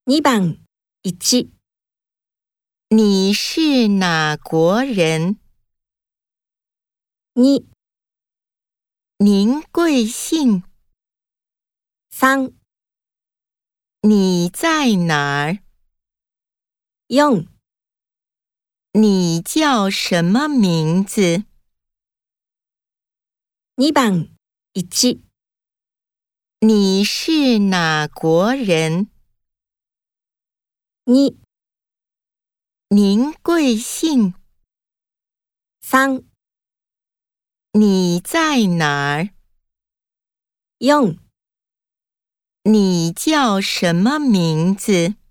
2番1、 你是哪国人？ 2、 您贵姓？ 3、 你在哪儿？ 4、 你叫什么名字？ 2番1、 你是哪国人？ 2、 您贵姓？ 3、 你在哪儿？ 4 你叫什么名字？